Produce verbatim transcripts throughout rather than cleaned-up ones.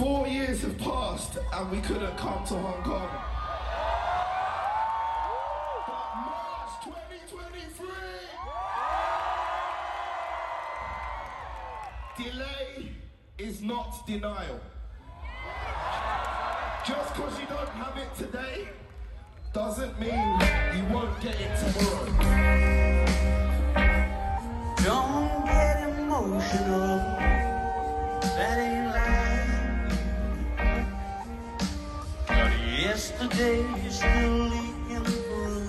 Four years have passed and we couldn't come to Hong Kong. But March twenty twenty-three, delay is not denial. Just because you don't have it today doesn't mean you won't get it tomorrow. Don't get emotional, that ain't life. But yesterday is still leaking through.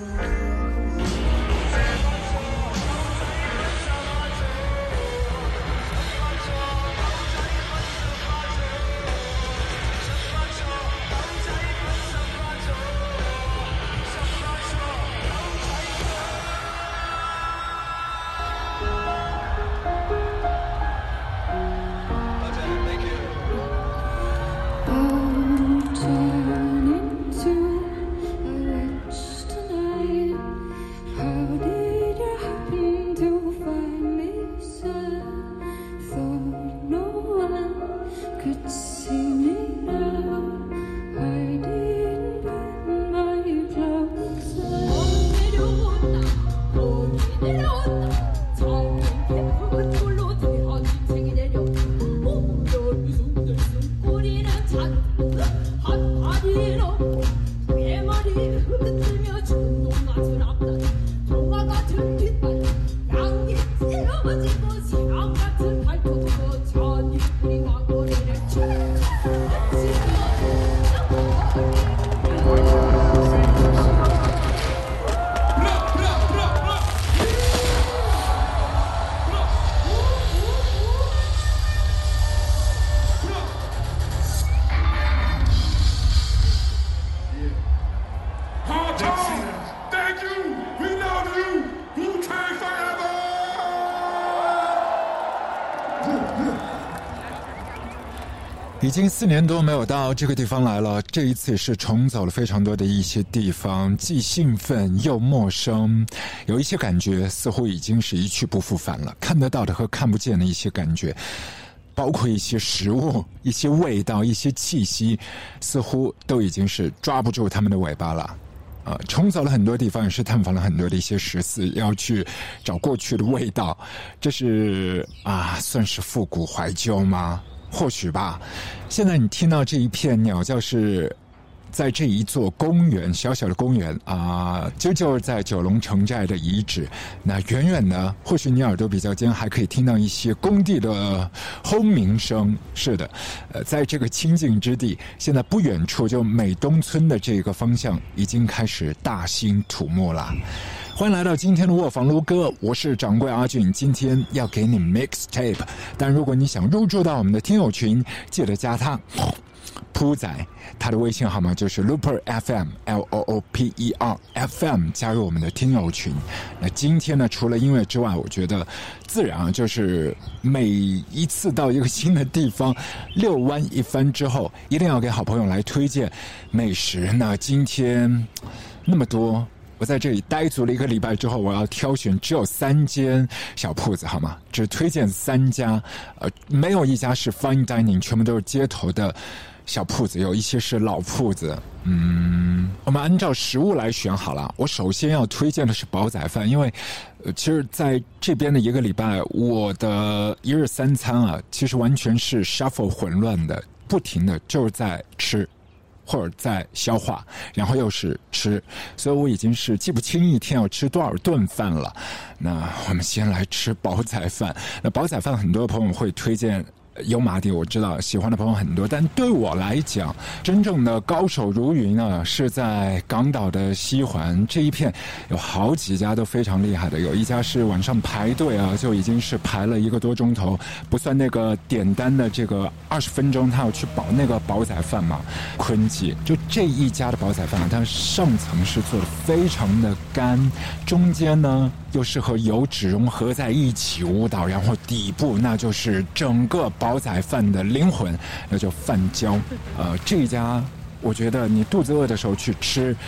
已经四年多没有到这个地方来了，这一次是重走了非常多的一些地方，既兴奋又陌生，有一些感觉似乎已经是一去不复返了，看得到的和看不见的一些感觉，包括一些食物、一些味道、一些气息，似乎都已经是抓不住他们的尾巴了。呃，重走了很多地方，也是探访了很多的一些十四，要去找过去的味道，这是啊，算是复古怀旧吗？或许吧。现在你听到这一片鸟叫是在这一座公园，小小的公园啊，就就是在九龙城寨的遗址。那远远的，或许你耳朵比较尖，还可以听到一些工地的轰鸣声。是的，呃，在这个清静之地，现在不远处就美东村的这个方向已经开始大兴土木了。欢迎来到今天的卧房撸歌，我是掌柜阿俊，今天要给你 mixtape。但如果你想入驻到我们的听友群，记得加他铺仔，他的微信号码就是 Looper F M L O O P E R F M， 加入我们的听友群。那今天呢，除了音乐之外，我觉得自然就是每一次到一个新的地方遛弯一番之后，一定要给好朋友来推荐美食。那今天那么多。我在这里待足了一个礼拜之后，我要挑选只有三间小铺子，好吗？只推荐三家，呃，没有一家是 fine dining， 全部都是街头的小铺子，有一些是老铺子。嗯，我们按照食物来选好了。我首先要推荐的是煲仔饭，因为，呃，其实在这边的一个礼拜，我的一日三餐啊，其实完全是 shuffle 混乱的，不停的就是在吃。或者在消化，然后又是吃，所以我已经是记不清一天要吃多少顿饭了。那我们先来吃煲仔饭。那煲仔饭很多朋友会推荐油麻地，我知道喜欢的朋友很多，但对我来讲，真正的高手如云呢，是在港岛的西环这一片，有好几家都非常厉害的。有一家是晚上排队啊，就已经是排了一个多钟头，不算那个点单的这个二十分钟，他要去煲那个煲仔饭嘛。坤记就这一家的煲仔饭，它上层是做的非常的干，中间呢又是和油脂融合在一起舞蹈，然后底部那就是整个煲仔饭的灵魂，那叫饭焦。呃，这一家我觉得你肚子饿的时候去吃，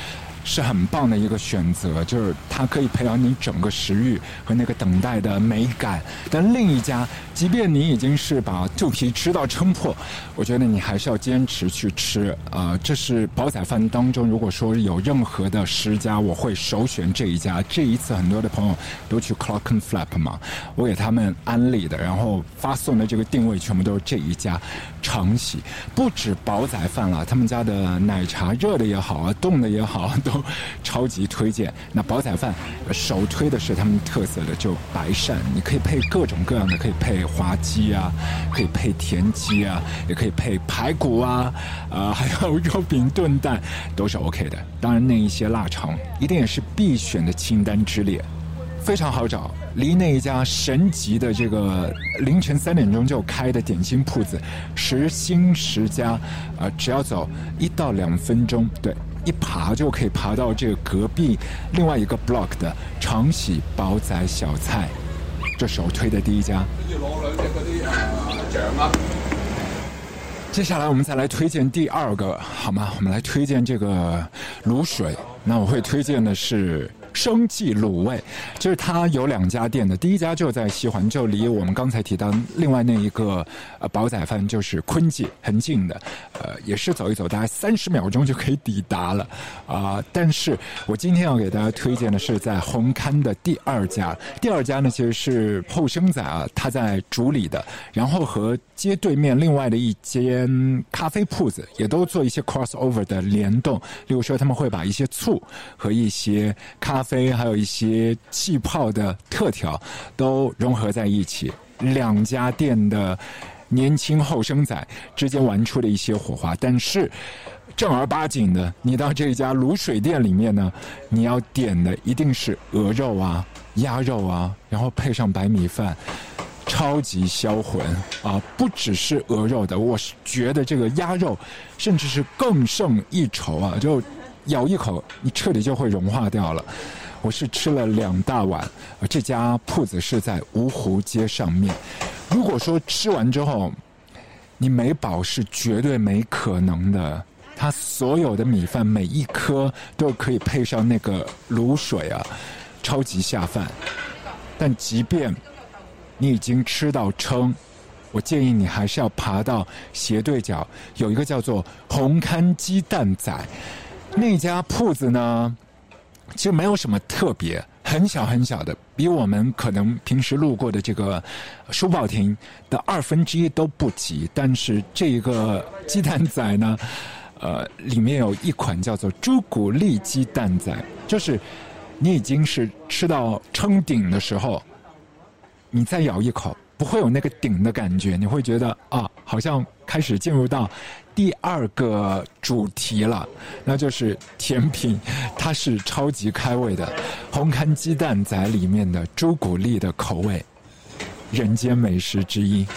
是很棒的一个选择，就是它可以培养你整个食欲和那个等待的美感。但另一家，即便你已经是把肚皮吃到撑破，我觉得你还是要坚持去吃啊、呃。这是煲仔饭当中，如果说有任何的十家，我会首选这一家。这一次很多的朋友都去 Clockenflap 嘛，我给他们安利的，然后发送的这个定位全部都是这一家长喜。不止煲仔饭了，他们家的奶茶热的也好啊，冻的也好，都超级推荐。那煲仔饭首推的是他们特色的就白鳝，你可以配各种各样的，可以配滑鸡啊，可以配田鸡啊，也可以配排骨啊，呃，还有肉饼炖蛋，都是 OK 的。当然那一些腊肠一定也是必选的清单之列。非常好找，离那一家神级的这个凌晨三点钟就开的点心铺子十星十家，呃，只要走一到两分钟，对，一爬就可以爬到这个隔壁另外一个 block 的长喜煲仔小菜，这首推的第一家。 要攞兩隻嗰啲啊醬啊。 接下来我们再来推荐第二个，好吗？我们来推荐这个卤水。那我会推荐的是生记卤味，就是它有两家店的，第一家就在西环，就离我们刚才提到另外那一个呃煲仔饭就是坤记很近的，呃也是走一走大概三十秒钟就可以抵达了啊、呃。但是我今天要给大家推荐的是在红磡的第二家，第二家呢其实是后生仔啊他在主理的，然后和街对面另外的一间咖啡铺子也都做一些 crossover 的联动，例如说他们会把一些醋和一些咖啡还有一些气泡的特调都融合在一起，两家店的年轻后生仔之间玩出了一些火花。但是正儿八经的，你到这家卤水店里面呢，你要点的一定是鹅肉啊、鸭肉啊，然后配上白米饭，超级销魂啊！不只是鹅肉的，我是觉得这个鸭肉甚至是更胜一筹啊！就咬一口，你彻底就会融化掉了。我是吃了两大碗，这家铺子是在芜湖街上面。如果说吃完之后你没饱是绝对没可能的，它所有的米饭每一颗都可以配上那个卤水啊，超级下饭。但即便你已经吃到撑，我建议你还是要爬到斜对角有一个叫做红磡鸡蛋仔那家铺子呢，其实没有什么特别，很小很小的，比我们可能平时路过的这个书报亭的二分之一都不及。但是这个鸡蛋仔呢，呃，里面有一款叫做朱古力鸡蛋仔，就是你已经是吃到撑顶的时候，你再咬一口，不会有那个顶的感觉，你会觉得啊，好像开始进入到第二个主题了，那就是甜品，它是超级开胃的红磡鸡蛋仔里面的朱古力的口味，人间美食之一。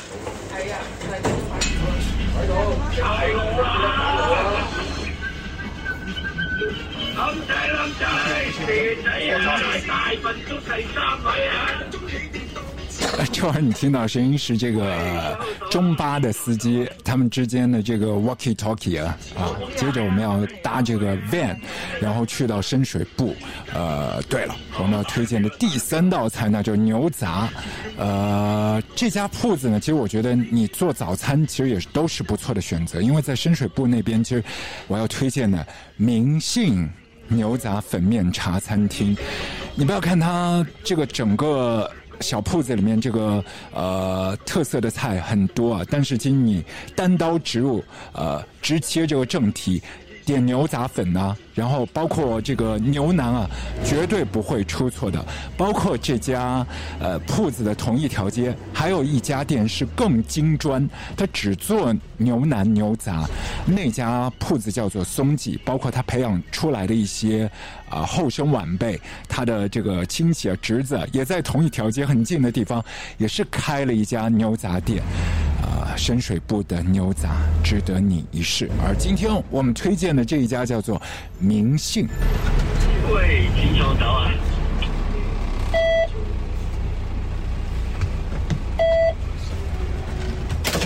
这会儿你听到声音是这个中巴的司机他们之间的这个 walkie talkie 啊啊，接着我们要搭这个 van， 然后去到深水埗。呃，对了，我们要推荐的第三道菜呢就是牛杂。呃，这家铺子呢，其实我觉得你做早餐其实也都是不错的选择，因为在深水埗那边，其实我要推荐的明信牛杂粉面茶餐厅，你不要看它这个整个小铺子里面这个呃特色的菜很多啊，但是请你单刀直入，呃，直切这个正题，点牛杂粉啊，然后包括这个牛腩啊，绝对不会出错的。包括这家呃铺子的同一条街，还有一家店是更精专，它只做牛腩牛杂，那家铺子叫做松记，包括他培养出来的一些啊、呃、后生晚辈，他的这个亲戚啊侄子也在同一条街很近的地方，也是开了一家牛杂店。啊、呃，深水埗的牛杂值得你一试。而今天我们推荐的这一家叫做明信。 喂，请稍等啊。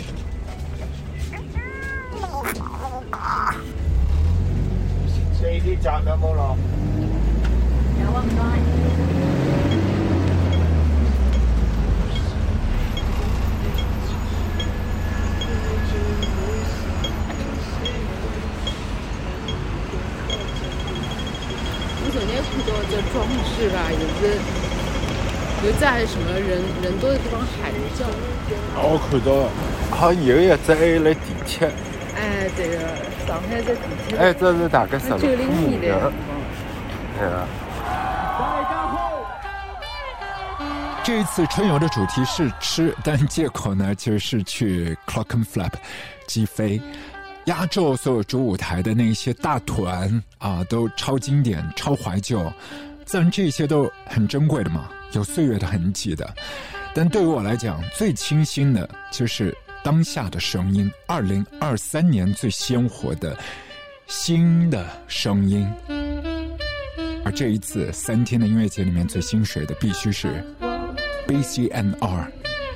四點你站到冇咯？ 有啊，唔該。 我昨天看到这装饰吧，也是有在什么人人多的地方喊叫。 我看到好像有一只还来地铁。 哎，对个，上海这地铁。 哎，这是大概十九零年的。 对啊。这一次春游的主题是吃，但借口呢就是去 Clockenflap 击飞。压轴所有主舞台的那些大团啊，都超经典、超怀旧，自然这些都很珍贵的嘛，有岁月的痕迹的。但对于我来讲，最清新的就是当下的声音，二零二三年最鲜活的新的声音。而这一次三天的音乐节里面最心水的必须是 B C N R。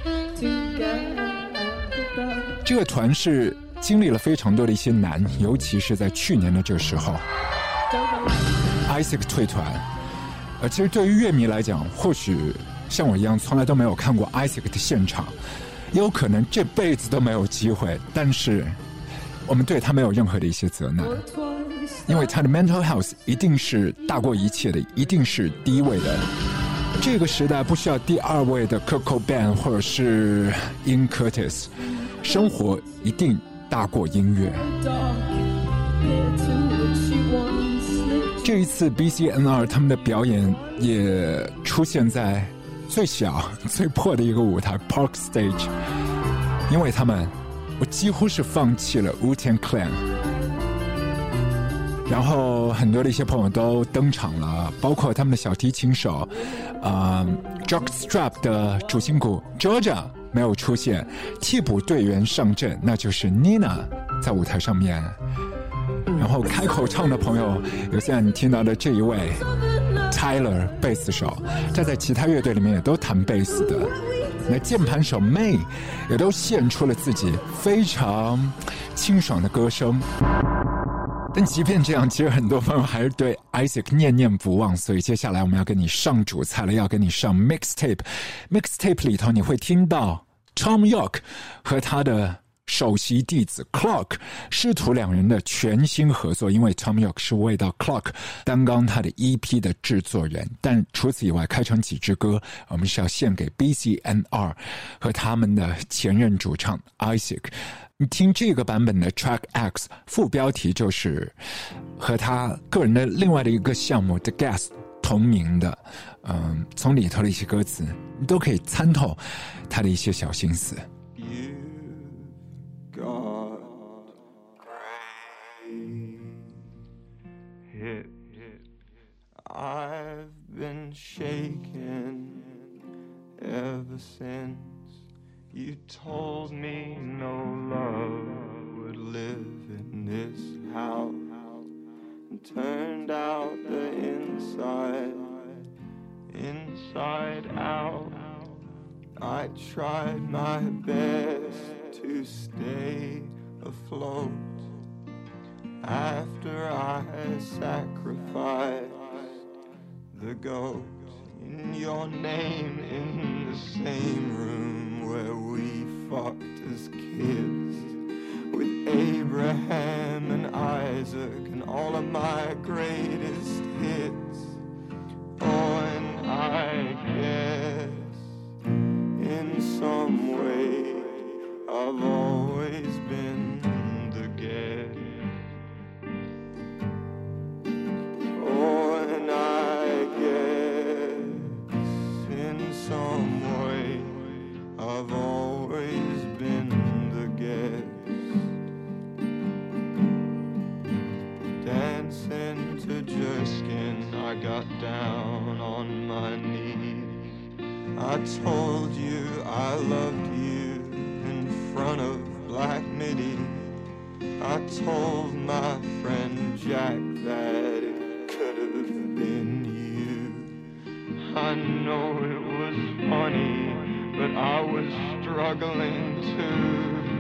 这个团是经历了非常多的一些难，尤其是在去年的这个时候 Isaac 退团。呃，其实对于乐迷来讲，或许像我一样从来都没有看过 Isaac 的现场，也有可能这辈子都没有机会，但是我们对他没有任何的一些责难，因为他的 mental health 一定是大过一切的，一定是第一位的。这个时代不需要第二位的 Kurt Cobain 或者是 Ian Curtis， 生活一定大过音乐。这一次 B C N R 他们的表演也出现在最小最破的一个舞台 Park Stage， 因为他们我几乎是放弃了 Wu-Tang Clan， 然后很多的一些朋友都登场了，包括他们的小提琴手呃 Jockstrap 的主心骨 Georgia 没有出现，替补队员上阵，那就是 Nina 在舞台上面。然后开口唱的朋友有现在你听到的这一位 Tyler 贝斯手，他在其他乐队里面也都弹贝斯的。那键盘手 May 也都献出了自己非常清爽的歌声。但即便这样，其实很多朋友还是对 Isaac 念念不忘，所以接下来我们要跟你上主菜了，要跟你上 mixtape。 mixtape 里头你会听到 Tom York 和他的首席弟子 Clock 师徒两人的全新合作，因为 Tom York 是为到 Clock 担纲他的 E P 的制作人。但除此以外，开场几支歌我们是要献给 B C N R 和他们的前任主唱 Isaac。 你听这个版本的 Track X， 副标题就是和他个人的另外的一个项目 The Gas 同名的。嗯，从里头的一些歌词你都可以参透他的一些小心思。 God, hit, hit. I've been shaken ever since you told me no love would live in this house, and turned out the inside, inside out. I tried my best to stay afloat after I sacrificed the goat in your name in the same room where we fucked as kids with Abraham and Isaac and all of my greatest hits. Oh, and I guess in some way I've always been the guest. Oh, and I guess in some way I've always been the guest. Dancing to Jerskin, I got down on my knees. I told you I loved you in front of Black Midi. I told my friend Jack that it could have been you. I know it was funny, but I was struggling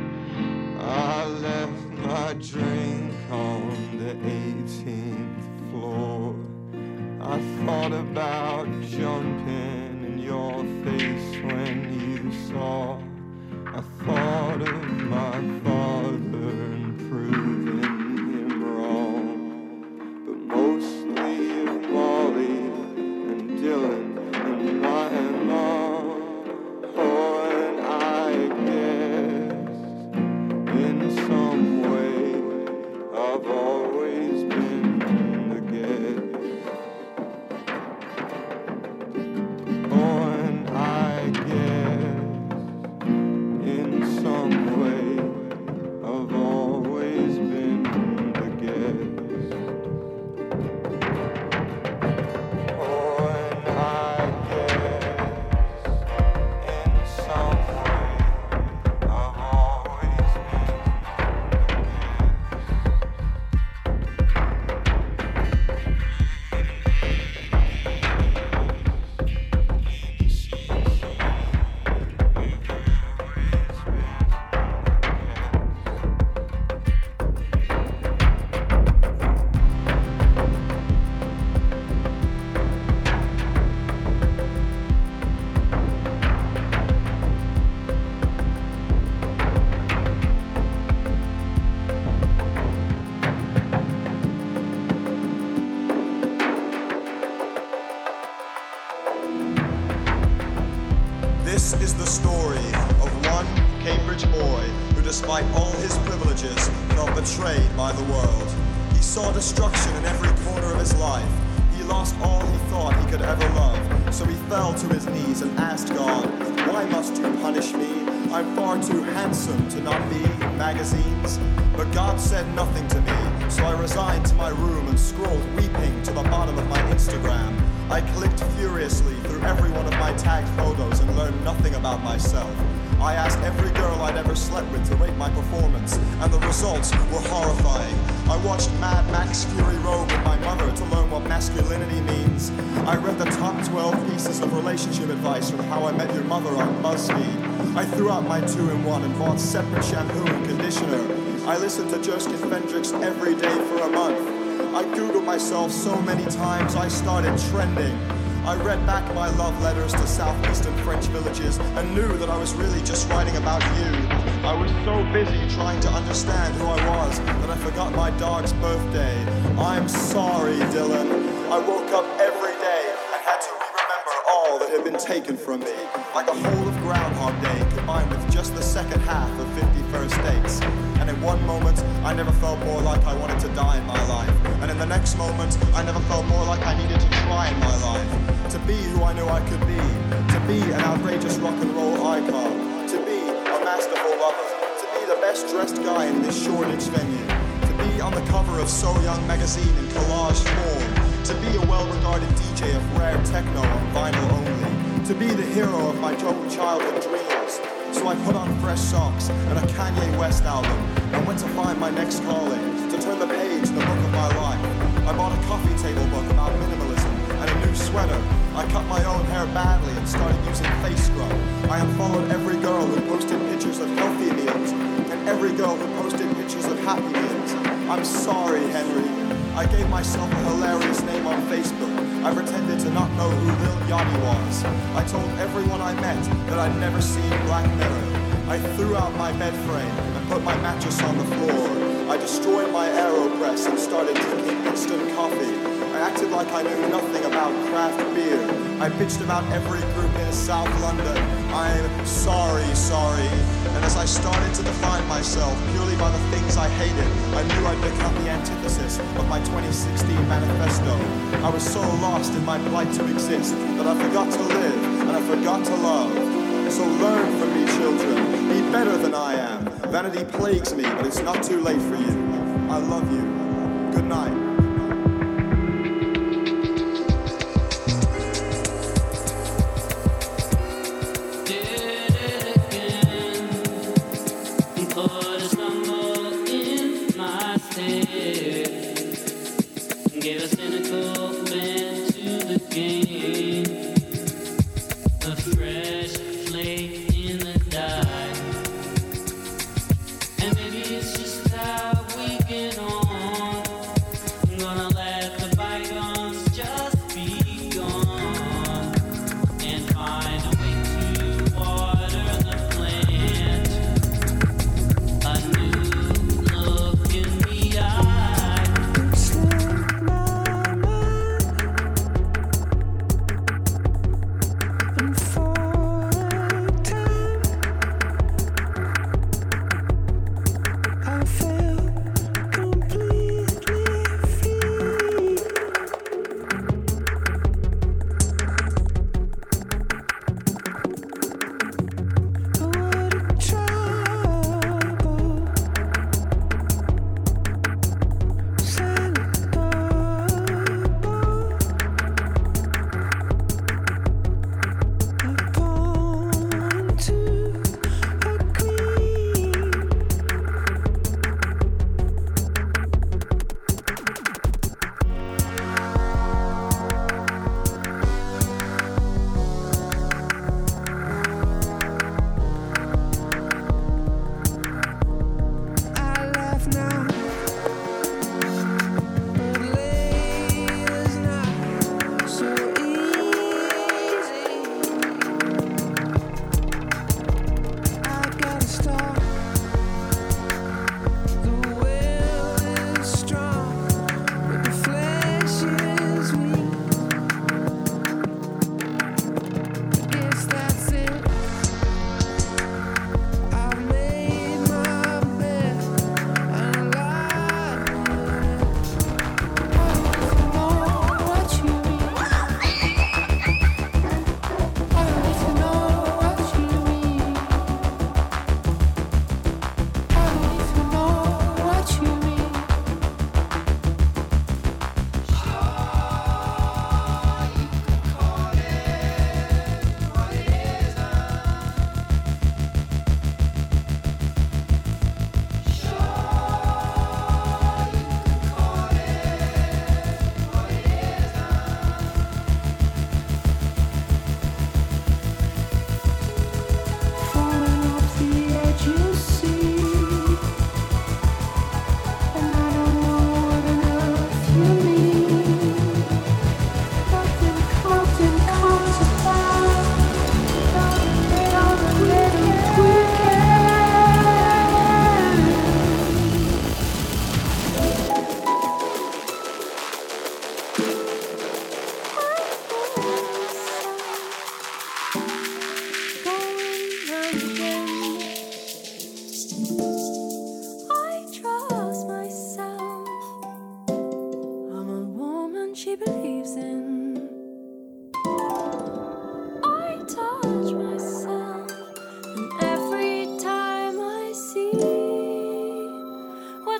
too. I left my drink on the eighteenth floor. I thought about jumping in your face when you saw. I thought of my father and proving him wrong, but mostly of Molly and Dylan and my mom. Oh, and I guess in some way I've always been the guest. Oh, and I guess in some way I've always been the guest. Oh, and I guess in some way I've always been This is the story of one Cambridge boy who, despite all his privileges, felt betrayed by the world. He saw destruction in every corner of his life. He lost all he thought he could ever love. So he fell to his knees and asked God, "Why must you punish me? I'm far too handsome to not be in magazines." But God said nothing to me, so I resigned to my room and scrolled weeping to the bottom of my Instagram. I clicked furiously through every one of my tagged photos and learned nothing about myself. I asked every girl I'd ever slept with to rate my performance, and the results were horrifying. I watched Mad Max Fury Road with my mother to learn what masculinity means. I read the top twelve pieces of relationship advice from How I Met Your Mother on BuzzFeed. I threw out my two-in-one and bought separate shampoo and conditioner. I listened to Joskin Fendrix every day for a month. I Googled myself so many times I started trending. I read back my love letters to southeastern French villages and knew that I was really just writing about you. I was so busy trying to understand who I was that I forgot my dog's birthday. I'm sorry, Dylan. I woke up every day and had to re-remember all that had been taken from me, like a whole of Groundhog Day combined with just the second half of fifty First Dates. And in one moment, I never felt more like I wanted to die in my life. And in the next moment, I never felt more like I needed to try in my life. To be who I knew I could be. To be an outrageous rock and roll icon. To be a masterful lover. To be the best dressed guy in this Shoreditch venue. To be on the cover of So Young magazine in collage form. To be a well-regarded D J of rare techno on vinyl only. To be the hero of my own childhood dreams. So I put on fresh socks and a Kanye West album and went to find my next calling, to turn the page in the book of my life. I bought a coffee table book about minimalism and a new sweater. I cut my own hair badly and started using face scrub. I unfollowed every girl who posted pictures of healthy meals and every girl who posted pictures of happy meals. I'm sorry, Henry. I gave myself a hilarious name on Facebook. I pretended to not know who Lil Yachty was. I told everyone I met that I'd never seen Black Mirror. I threw out my bed frame and put my mattress on the floor. I destroyed my AeroPress and started drinking instant coffee. I acted like I knew nothing about craft beer. I bitched about every group in South London. I'm sorry, sorry. And as I started to define myself purely by the things I hated, I knew I'd become the antithesis of my twenty sixteen manifesto. I was so lost in my plight to exist that I forgot to live and I forgot to love. So learn from me, children. Be better than I am. Vanity plagues me, but it's not too late for you. I love you. Good night. Give a cynical bent to the game, a fresh flake in the dye, and maybe it's just how we get on. I'm gonna let the bite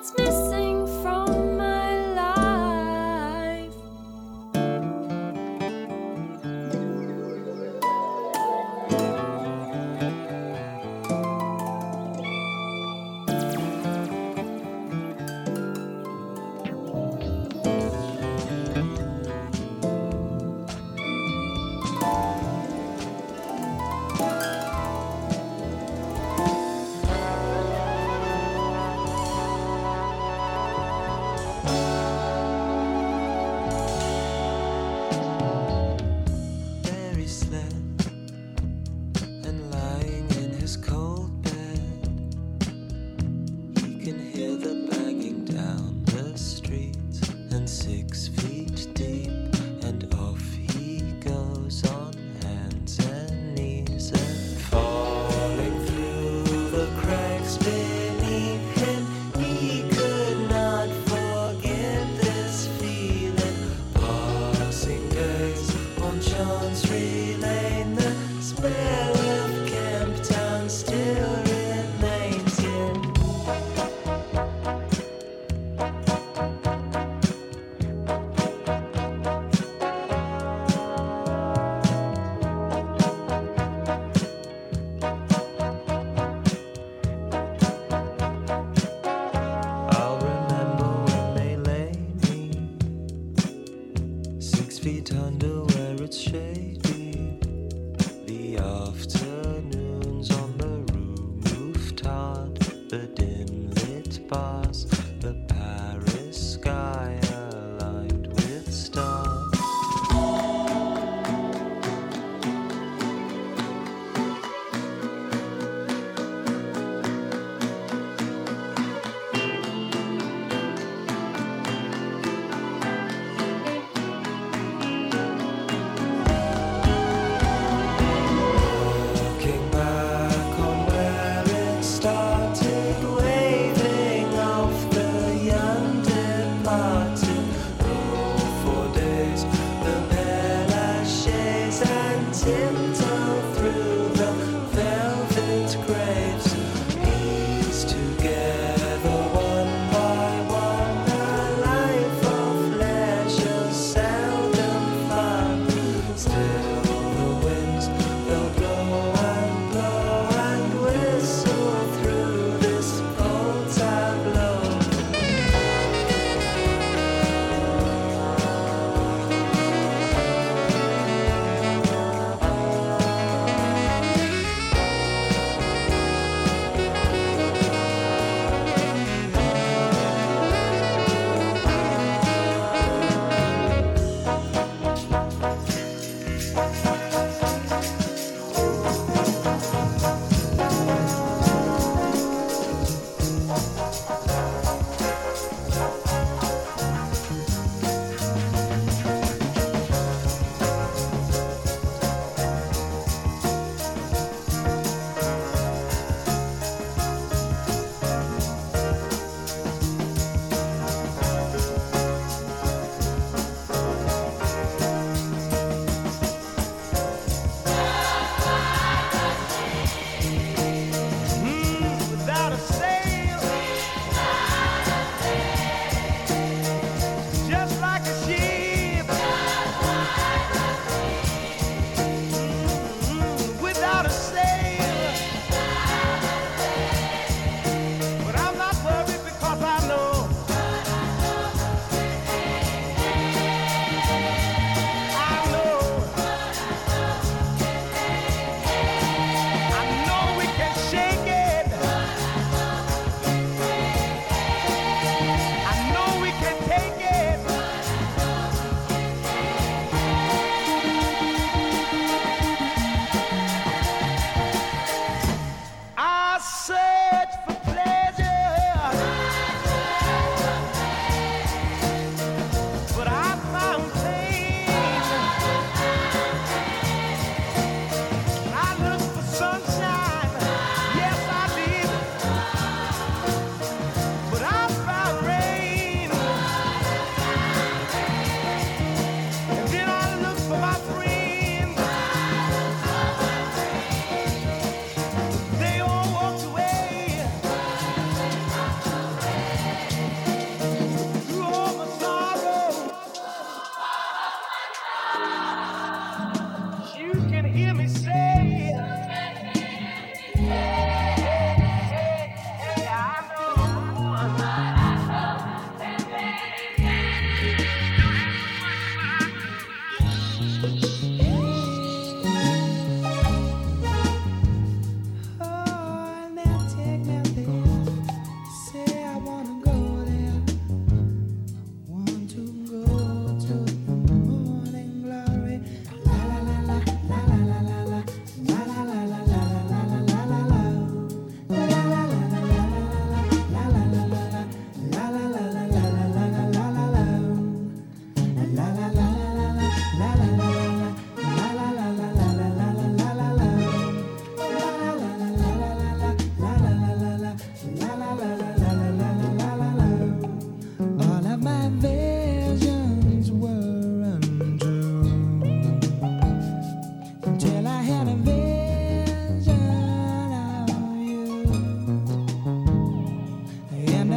what's missing from my life. Barry slept, and lying in his cold bed, he can hear the banging down the streets, and six feet deep, and off he goes on hands and knees, and falling through the cracks beneath him, he could not forget this feeling. Passing days on Chancery Lane, the spell of Camptown still remains in. I'll remember when they lay me six feet under where it's shady. The afternoons on the rooftop, the dim lit bars, the Paris sky aligned with stars. Looking back on where it started, waving off the young departed.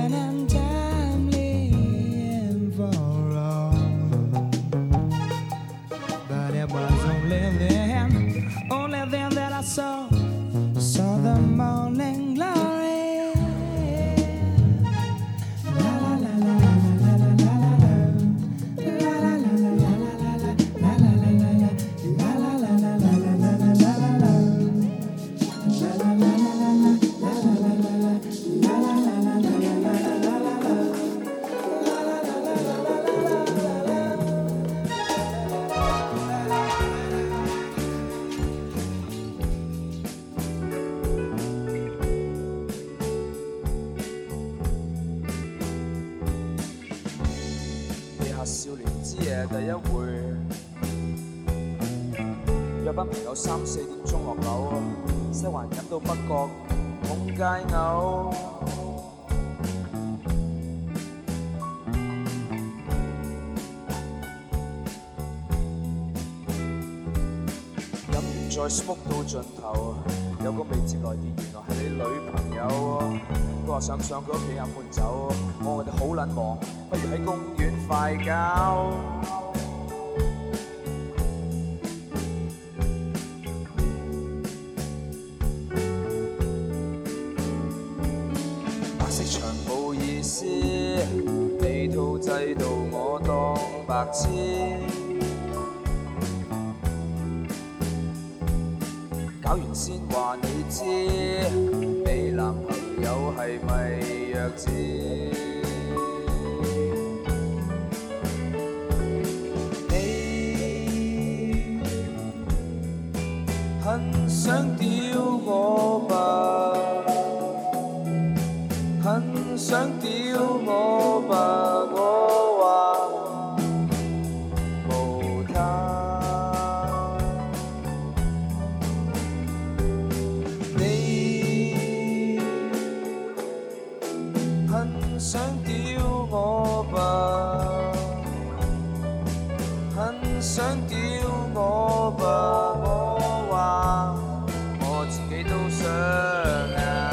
and untimely and for wrong. But it was only then, only then that I saw, saw the morning glory. La la la la la la la la la. La la la la la la la la la la la la. La la la la la la la la la la la. La la la la la la la la la la la. La la la la la la la la la la la. La la la la la la la la la. 地下少年之夜第一回，約班朋友三四點鐘落樓，西環飲到北角通街嘔。飲完再 smoke 到盡頭，有個未接來電，原來係你女朋友。佢話想上佢屋企飲悶酒，我話我哋好撚忙，不如喺公園快搞。白色場冇意思，地套制度我當白痴。搞完先話你知，你男朋友係咪弱智？你很想屌我吧，很想屌我吧，我話無他。想屌我吧，很想屌我吧，我話我自己都想啊。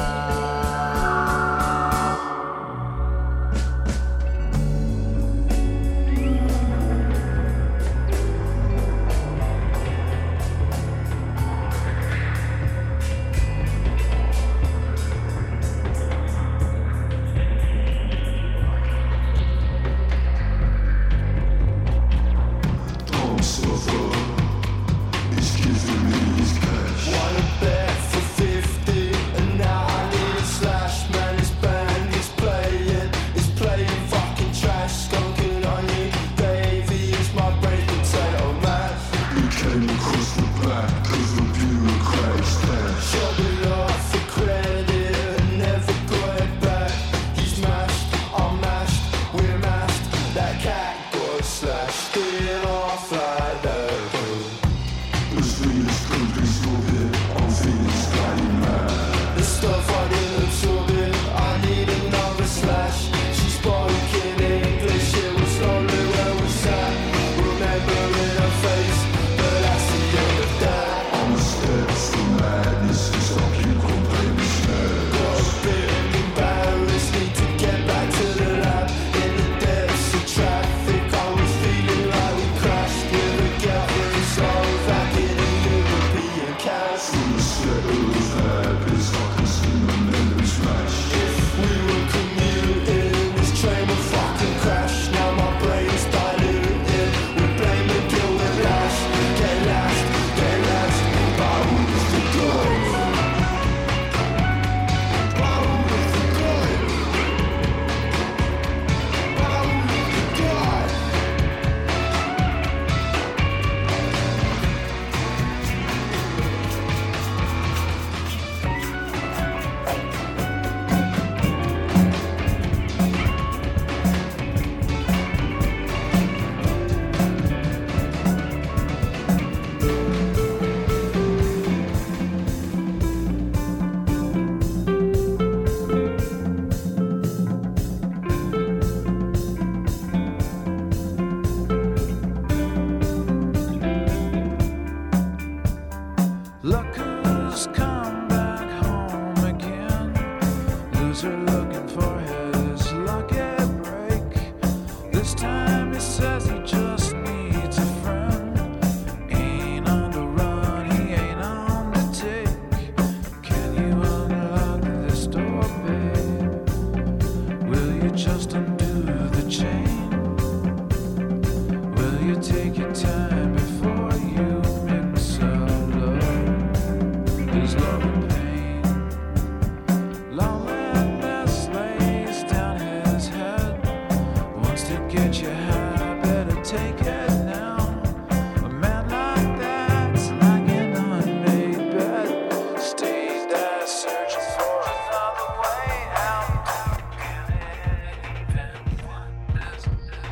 just undo the chain? Will you take your time before you mix up love? There's love and pain. Loneliness lays down his head. Wants to get you high, better take it now. A man like that's like an unmade bed. Stay there searching for another way out. Can it even wonders?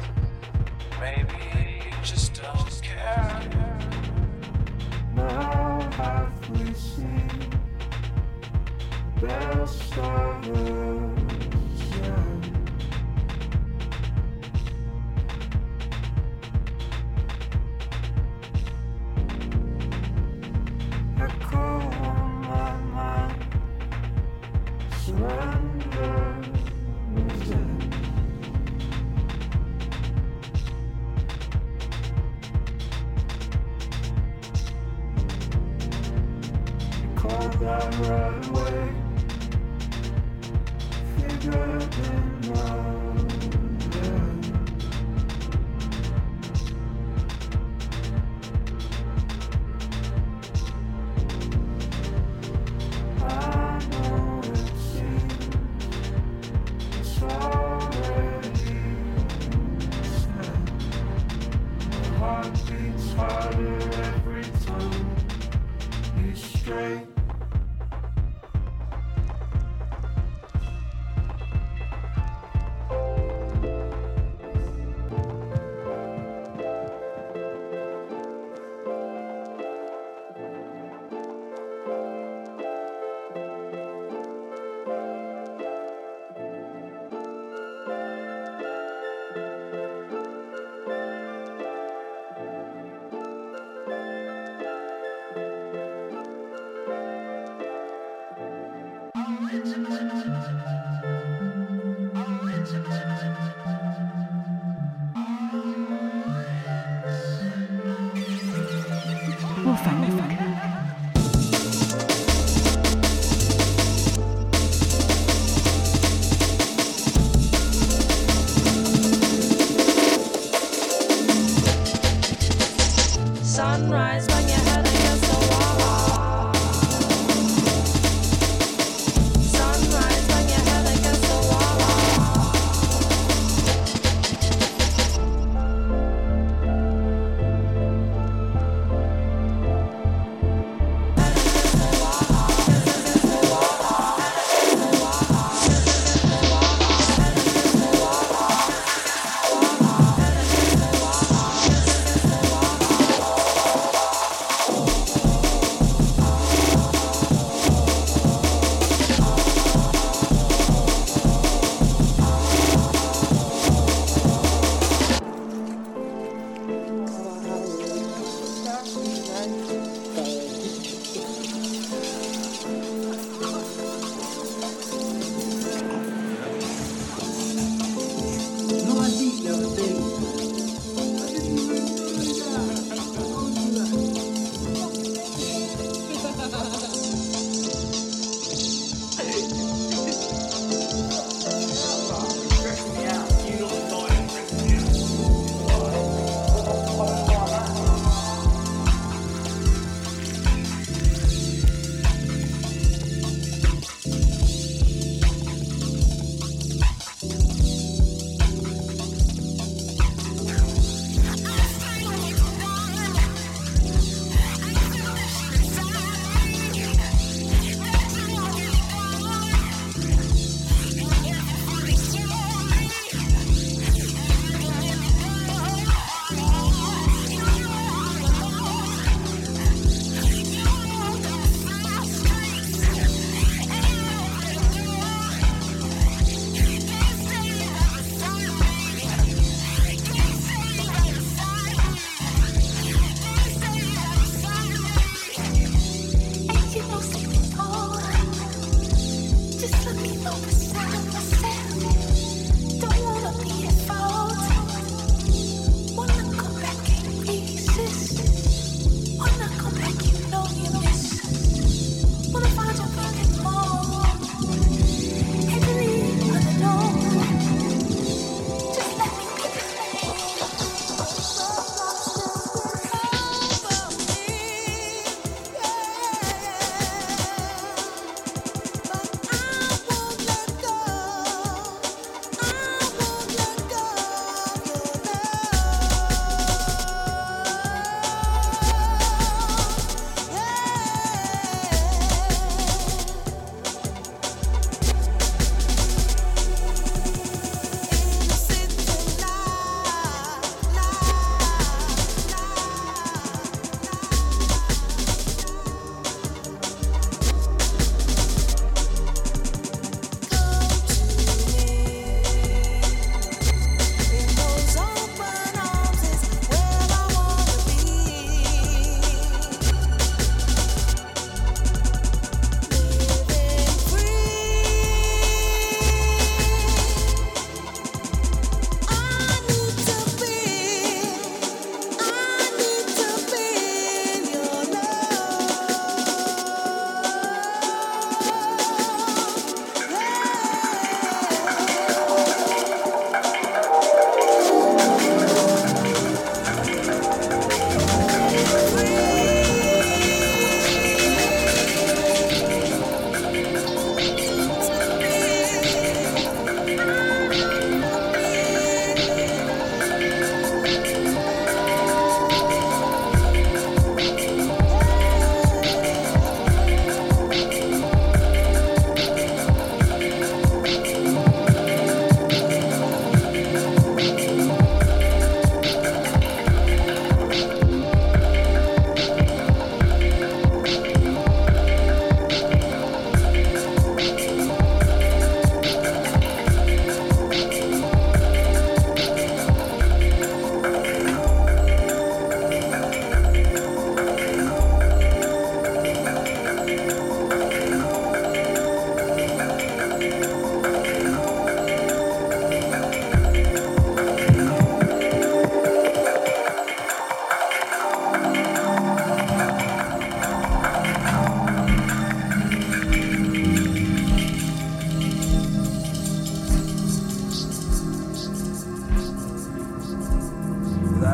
Maybe you just don't care. Now have we seen best of us? Echo on my mind, surrender within. Call that right away, figured it out, yeah. I know it seems it's already said. My heart beats harder every time you stray. 莫烦莫烦。 Sunrise when your head against the wall. Sunrise when your head against the wall.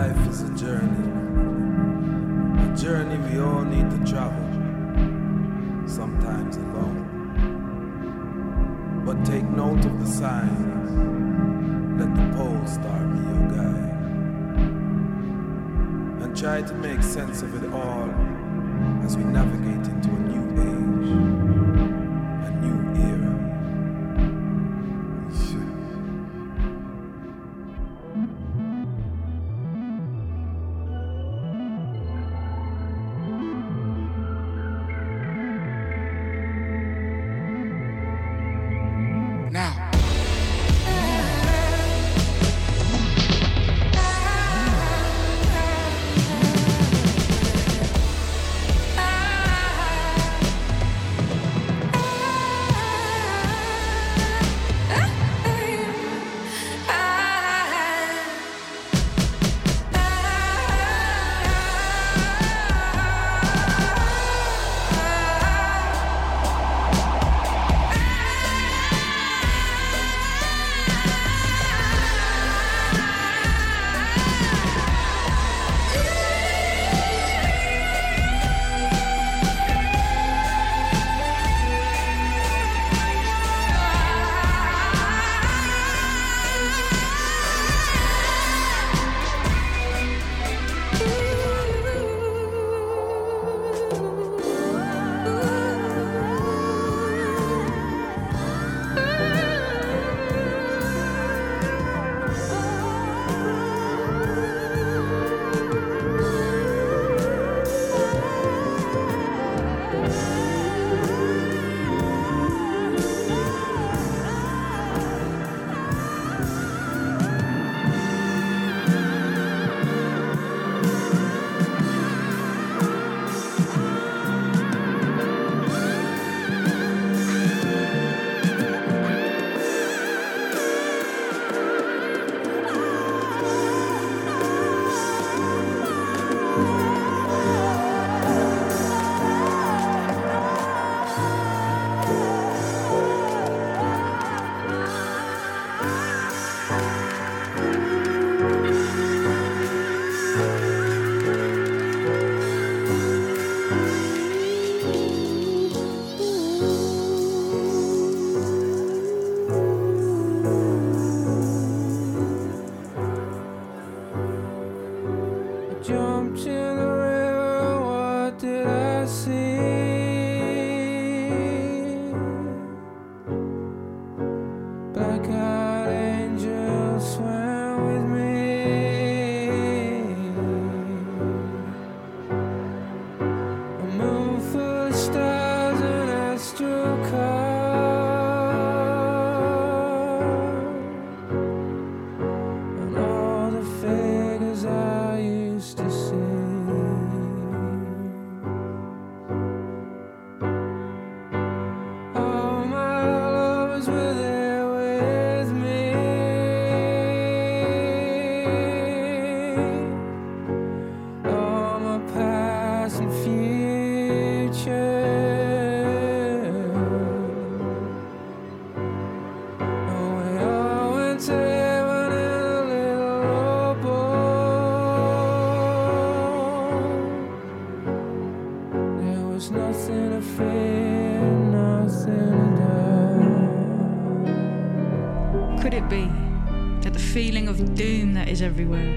Life is a journey, a journey we all need to travel, sometimes alone. But take note of the signs, let the pole star be your guide, and try to make sense of it all as we navigate into a new age, a new era. Could it be that the feeling of doom that is everywhere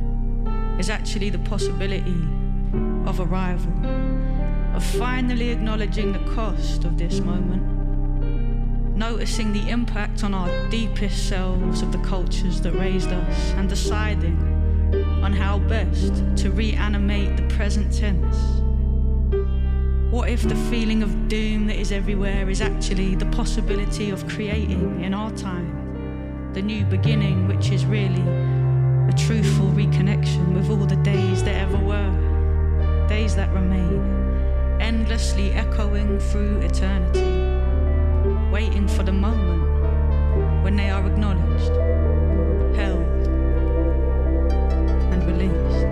is actually the possibility of arrival, of finally acknowledging the cost of this moment, noticing the impact on our deepest selves of the cultures that raised us, and deciding on how best to reanimate the present tense? What if the feeling of doom that is everywhere is actually the possibility of creating in our time the new beginning, which is really a truthful reconnection with all the days that ever were, days that remain, endlessly echoing through eternity, waiting for the moment when they are acknowledged, held, and released.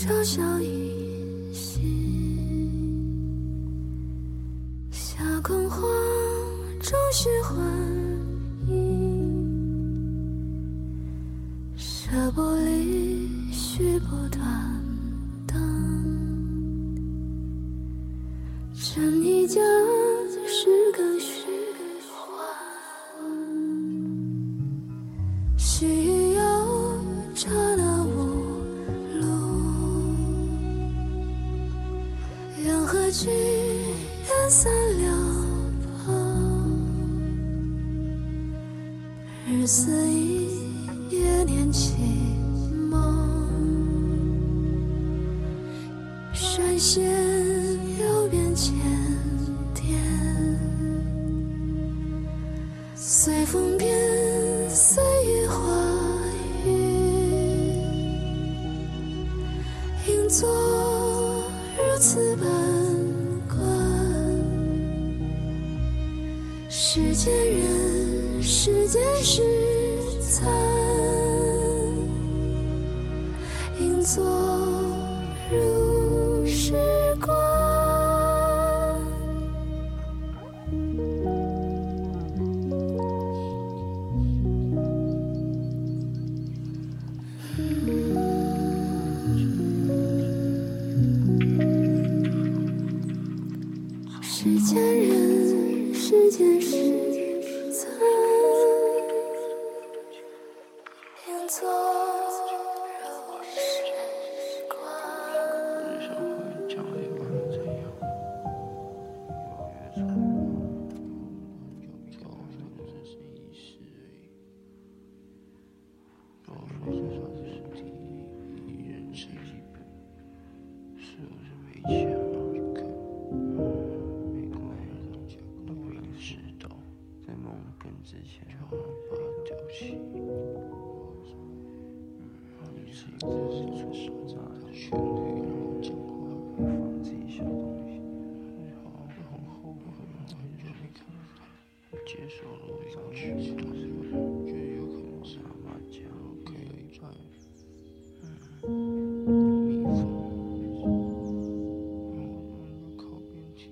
小小一息，夏空花终须还意，舍不离须不断当，真一家是个虚幻，需要刹那无路，缘何聚缘散了旁，日思一夜念起梦，闪现流变千点，随风变，随雨化雨，应作如此般观，世间人，世间事残，应作如是观。世间人，世间事残，应作如是观。 人生会将来不管怎样，有越错，就高分只是一时而已。高分至少是第一，人生基本，是不是没钱吗？在梦更之前，就要把它丢弃。嗯，你是一个是手拿着权力，然后讲话可以放自己小东西，好像很后悔，然后就没看到接受了我想去，但是我觉得有可能是阿妈家可以有一半，嗯，有蜜蜂，然后让它靠边停。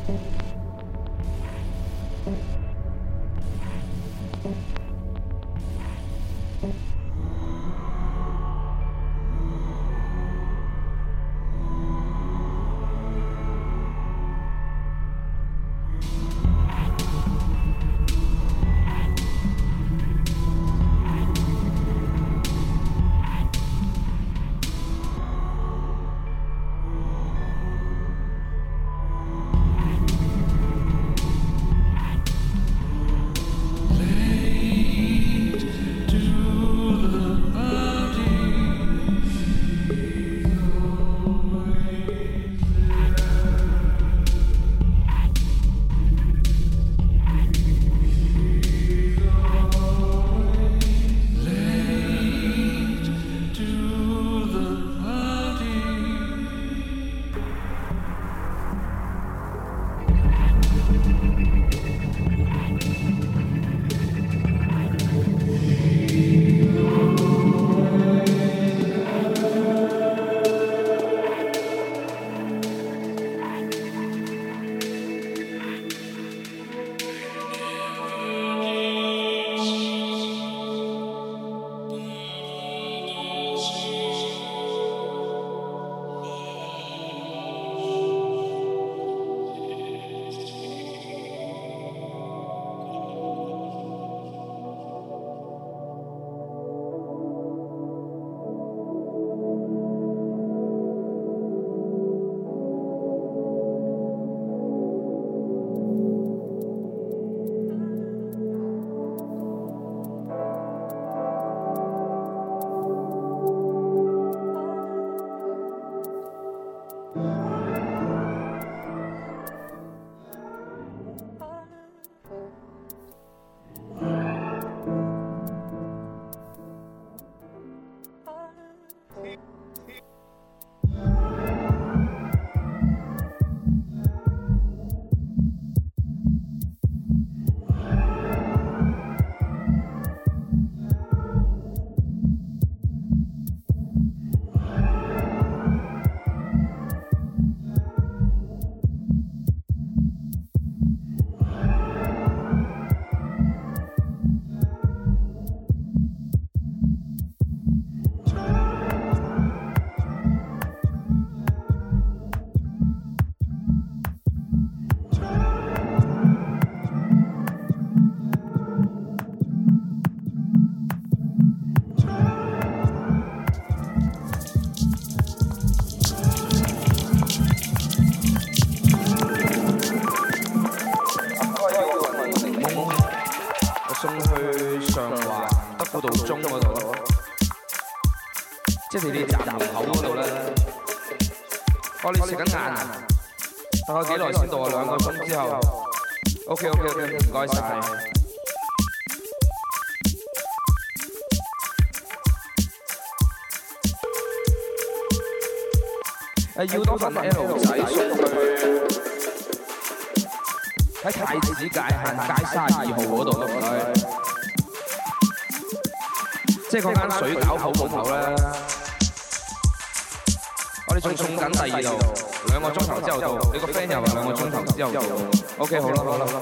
即係地鐵站門口嗰度咧，我哋食緊晏啊！大概幾耐先到啊？兩個鐘之後。OK OK OK， 唔該晒。誒要多份 L 仔送去喺太子界限街三十二號嗰度，唔該。即係嗰間水餃鋪鋪頭咧。我哋仲送緊第二度，兩個鐘頭之後到。你個 friend 又話兩個鐘頭之後到。OK， 好啦好啦。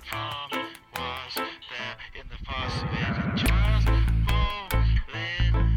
Just moving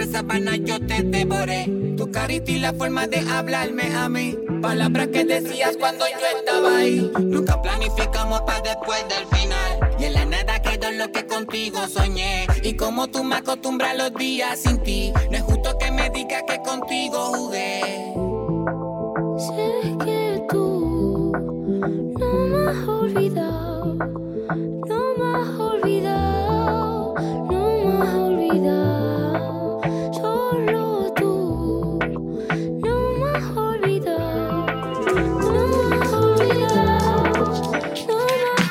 sábana yo te devoré. Tu carita y la forma de hablarme a mí. Palabras que decías cuando yo estaba ahí. Nunca planificamos para después del final. Y en la nada quedó lo que contigo soñé. Y como tú me acostumbras los días sin ti, no es justo que me digas que contigo jugué. Sé que tú no me has olvidado, no me has olvidado, no me has olvidado. Solo tú no me has olvidado, no me has olvidado, no me has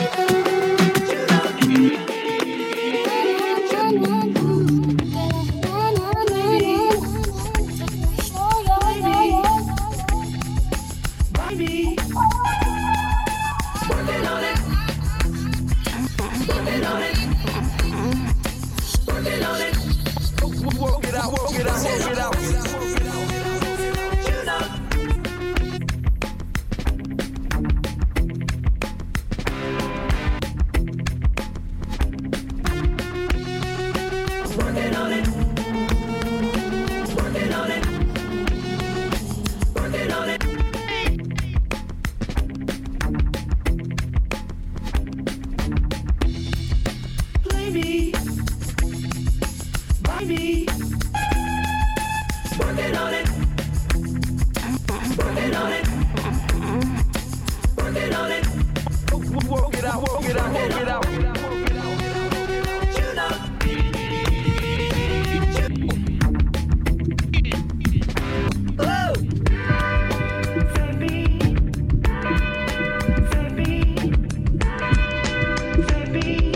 Baby, working on it, working on it, working on it. Work it out, work it out, work it out. You know. Working on it, working on it, working on it. Baby, baby, working on it, working on it, working on it. Work it out, work it out, work it out. You know. Oh, baby, baby, baby.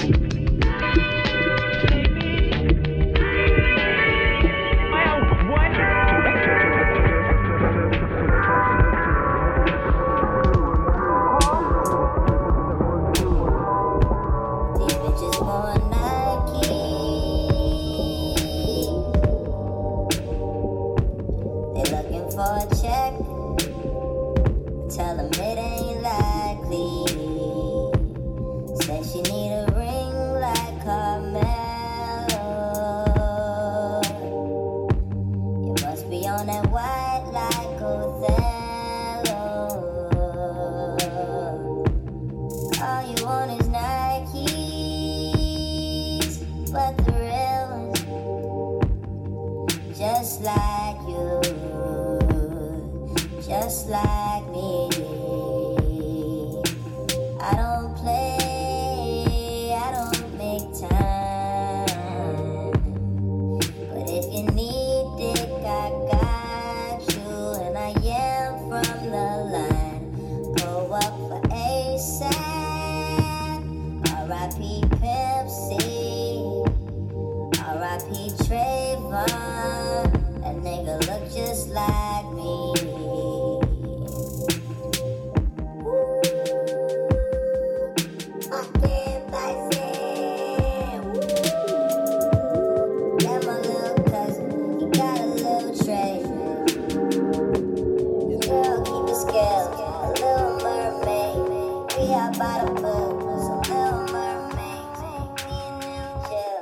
Just like you, just like me. I don't play, I don't make time. But if you need dick, I got you. And I am from the line. Go up for ASAP. R I P Pimp C. R I P Trayvon. A nigga look just like me. I can't buy it. Got my little cousin, he got a little tray. The girl keep it scale, a little mermaid. We out by the pool, some little mermaids. Me and them chill.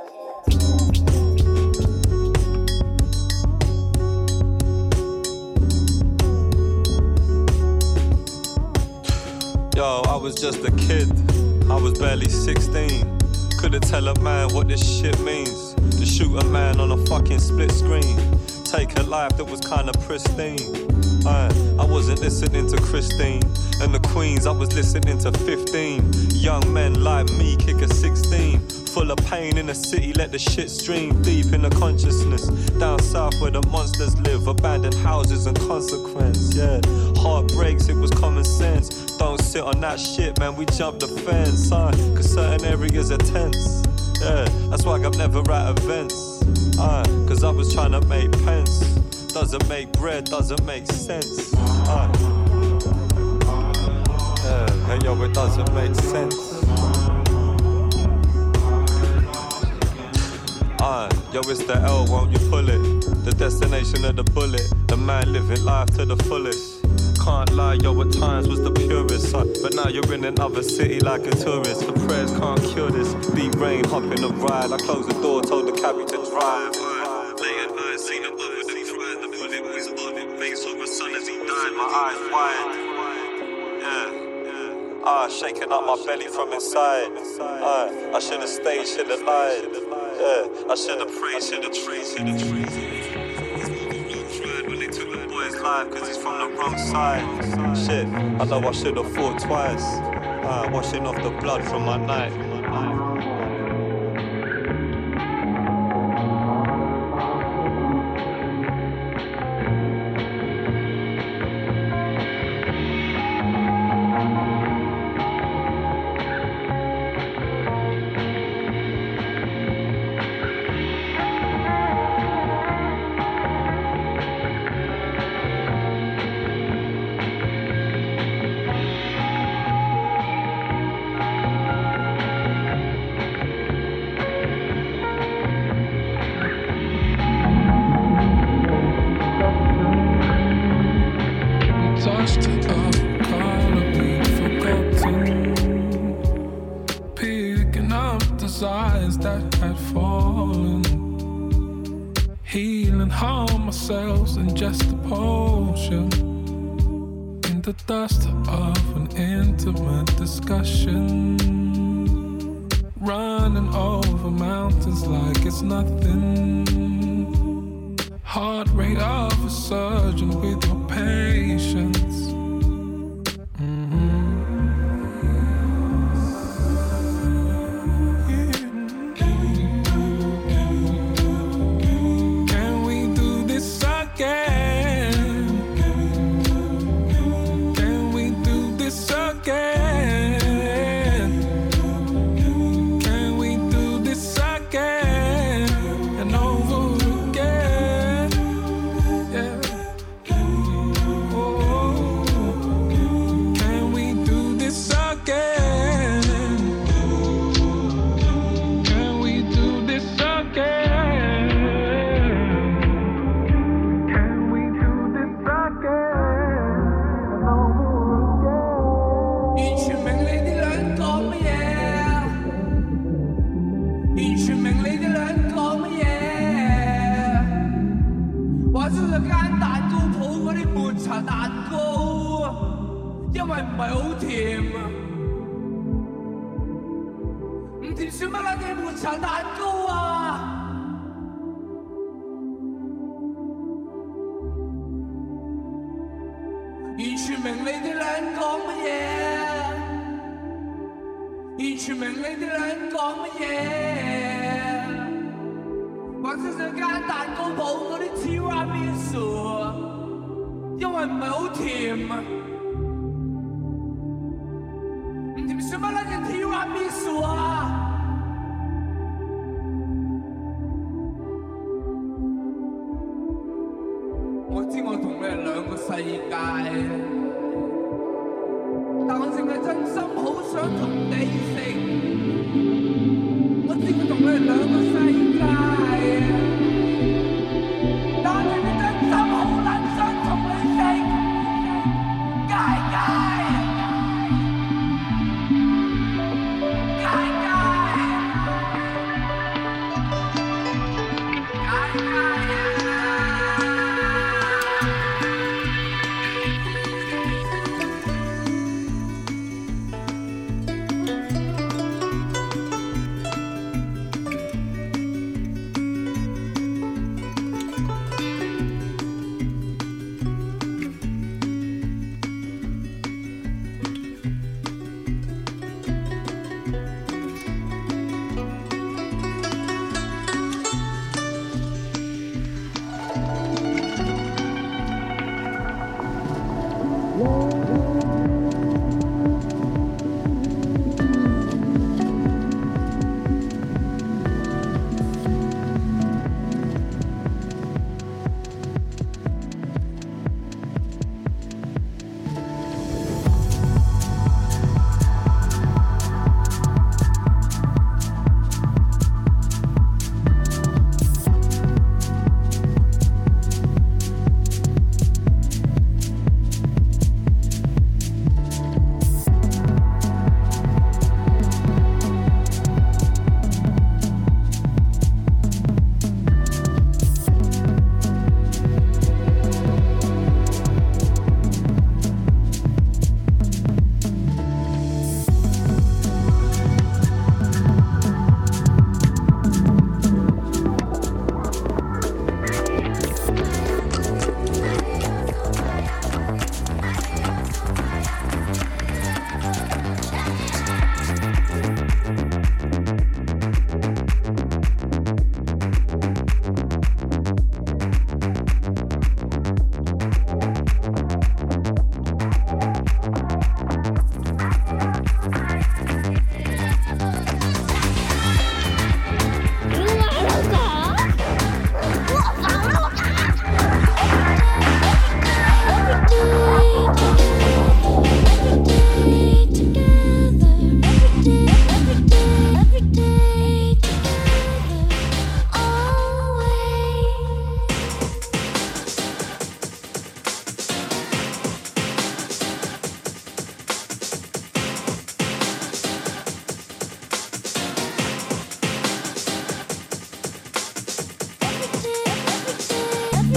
Yo, I was just a kid, I was barely sixteen. Couldn't tell a man what this shit means. To shoot a man on a fucking split screen. Take a life that was kinda pristine. I, I wasn't listening to Christine and the Queens, I was listening to fifteen. Young men like me kick a sixteen. Full of pain in the city, let the shit stream deep in the consciousness. Down south where the monsters live, abandoned houses and consequence, yeah. Heartbreaks, it was common sense. Don't sit on that shit, man, we jump the fence, uh, cause certain areas are tense. Yeah, that's why I'm never at events, uh, cause I was trying to make pence. Doesn't make bread, doesn't make sense, uh. Yeah, hey, yo, it doesn't make sense. Uh, yo, it's the L, won't you pull it? The destination of the bullet. The man living life to the fullest. Can't lie, yo, at times was the purest, son. But now you're in another city like a tourist. The prayers can't cure this. Deep rain, hop in the ride. I closed the door, told the cabbie to drive. Late at died, my eyes wide. Yeah, yeah. Ah, shaking up my belly from inside. Ah, I should have stayed, should have lied. Yeah, I should have prayed, should have prayed, should have prayed. When they took the boy's life, cause he's from the wrong side. Shit, I know I should have fought twice. Ah, washing off the blood from my night. Touched a color we'd forgotten, picking up desires that had fallen, healing harm ourselves in just a potion, in the dust of an intimate discussion, running over mountains like it's nothing. Heart rate of a surgeon with your patience. Can we do this again? Can we do this again? Can we do this again and over again? Can we do this again? Can we do this again? Can we do this again? 完全明你哋兩講乜嘢，完全明你哋兩講乜嘢。話出咗間蛋糕鋪嗰啲抹茶蛋糕，因為唔係好甜啊，唔甜算乜撚嘢抹茶蛋糕啊？完全明你哋兩講乜嘢，完全明你哋兩講乜嘢。或者想間蛋糕鋪嗰啲 tiramisu， 因為唔係好甜啊，唔甜算乜撚嘢 tiramisu 啊？我知我同你係兩個世界，但我淨係真心好想同你食。我知我同你係兩個世界，但我淨係真心好撚想同你食。街街，街街，街街。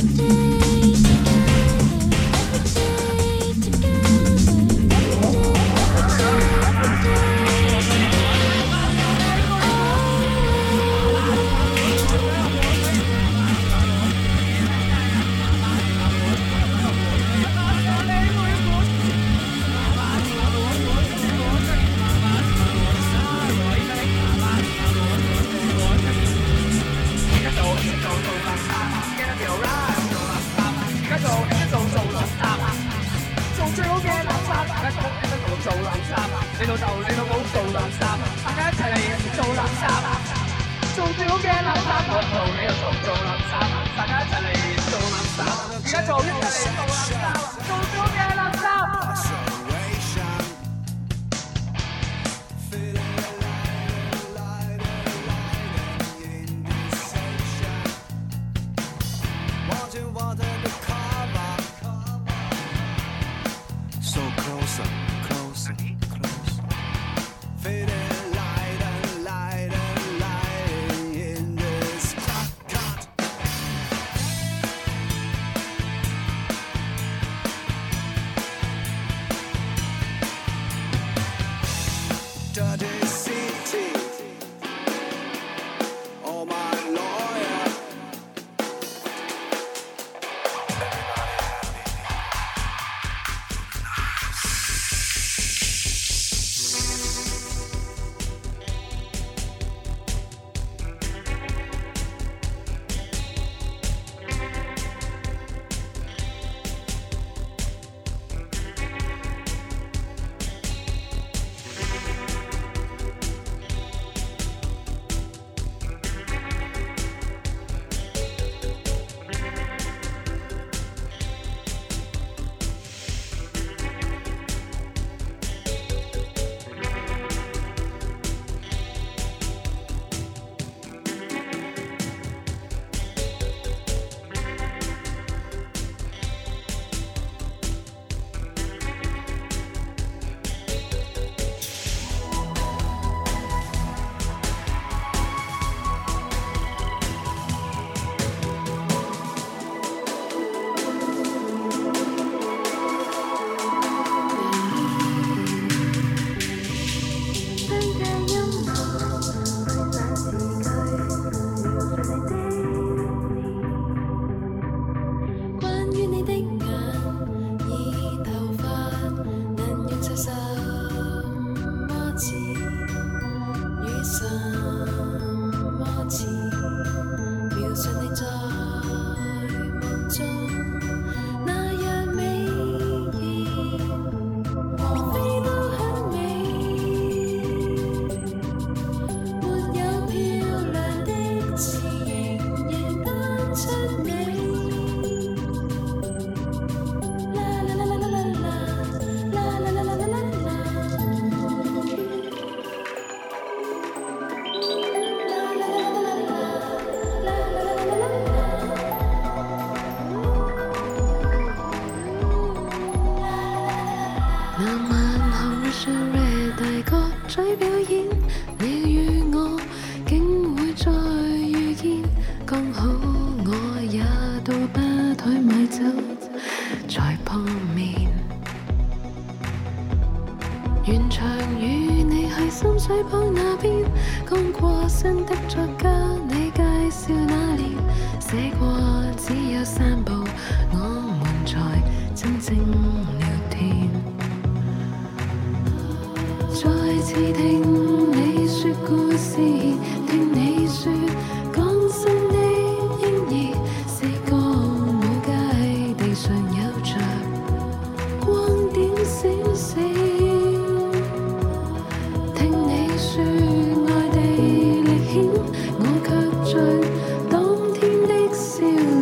愛地歷險，我卻在當天的笑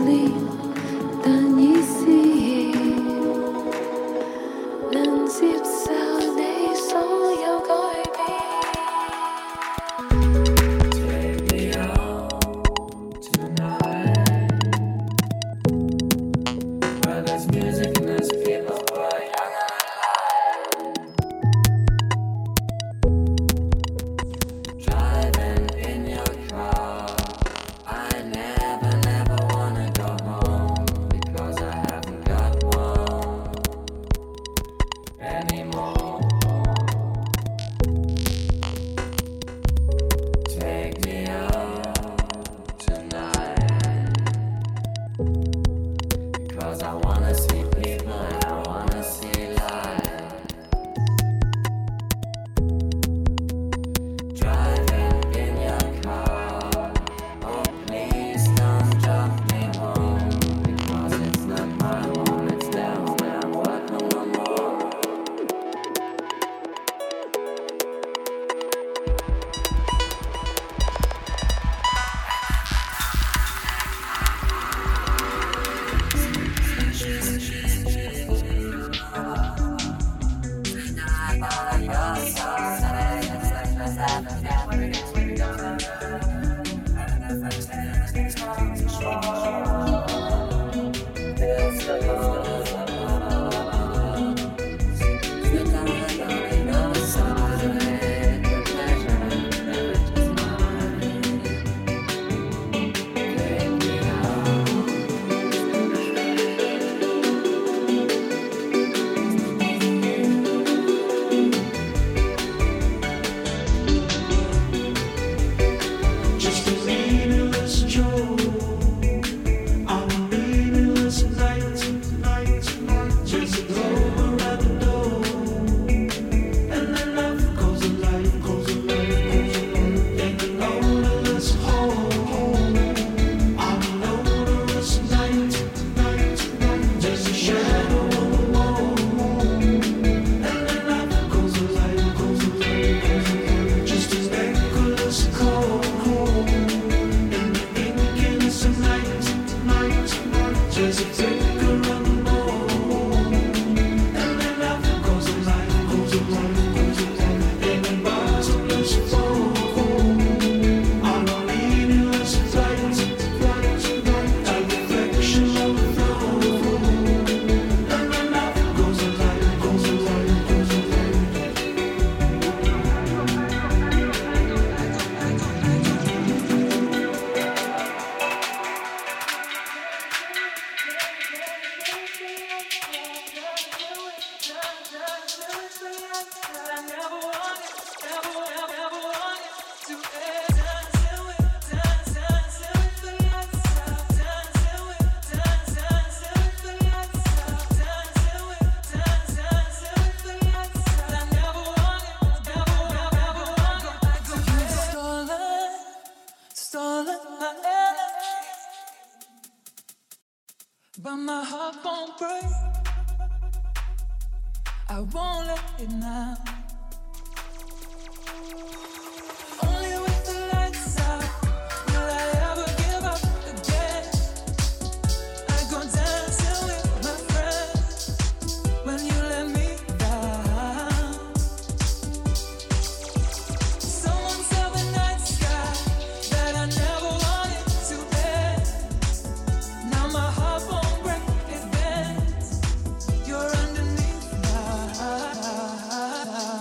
Cause I wanna see people and I wanna see life. Driving in your car, oh please don't drop me home. Because it's not my home, it's their home and I'm welcome no more. But my heart won't break. I won't let it now. Only with the lights out will I ever give up again. I go dancing with my friends when you let me down. Someone tell the night sky that I never wanted to end. Now my heart won't break, it bends. You're underneath now.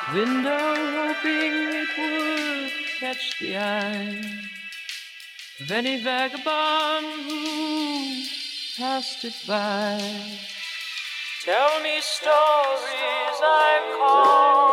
window hoping it would catch the eye of any vagabond who passed it by. Tell me stories I call